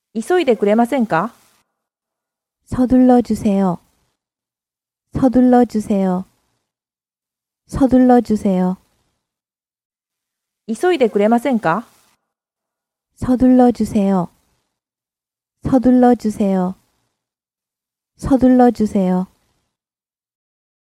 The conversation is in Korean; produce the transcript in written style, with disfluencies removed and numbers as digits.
急いでくれませんか? 서둘러 주세요. 서둘러 주세요. 서둘러 주세요. 急いでくれませんか? 서둘러 주세요. 서둘러 주세요. 서둘러 주세요.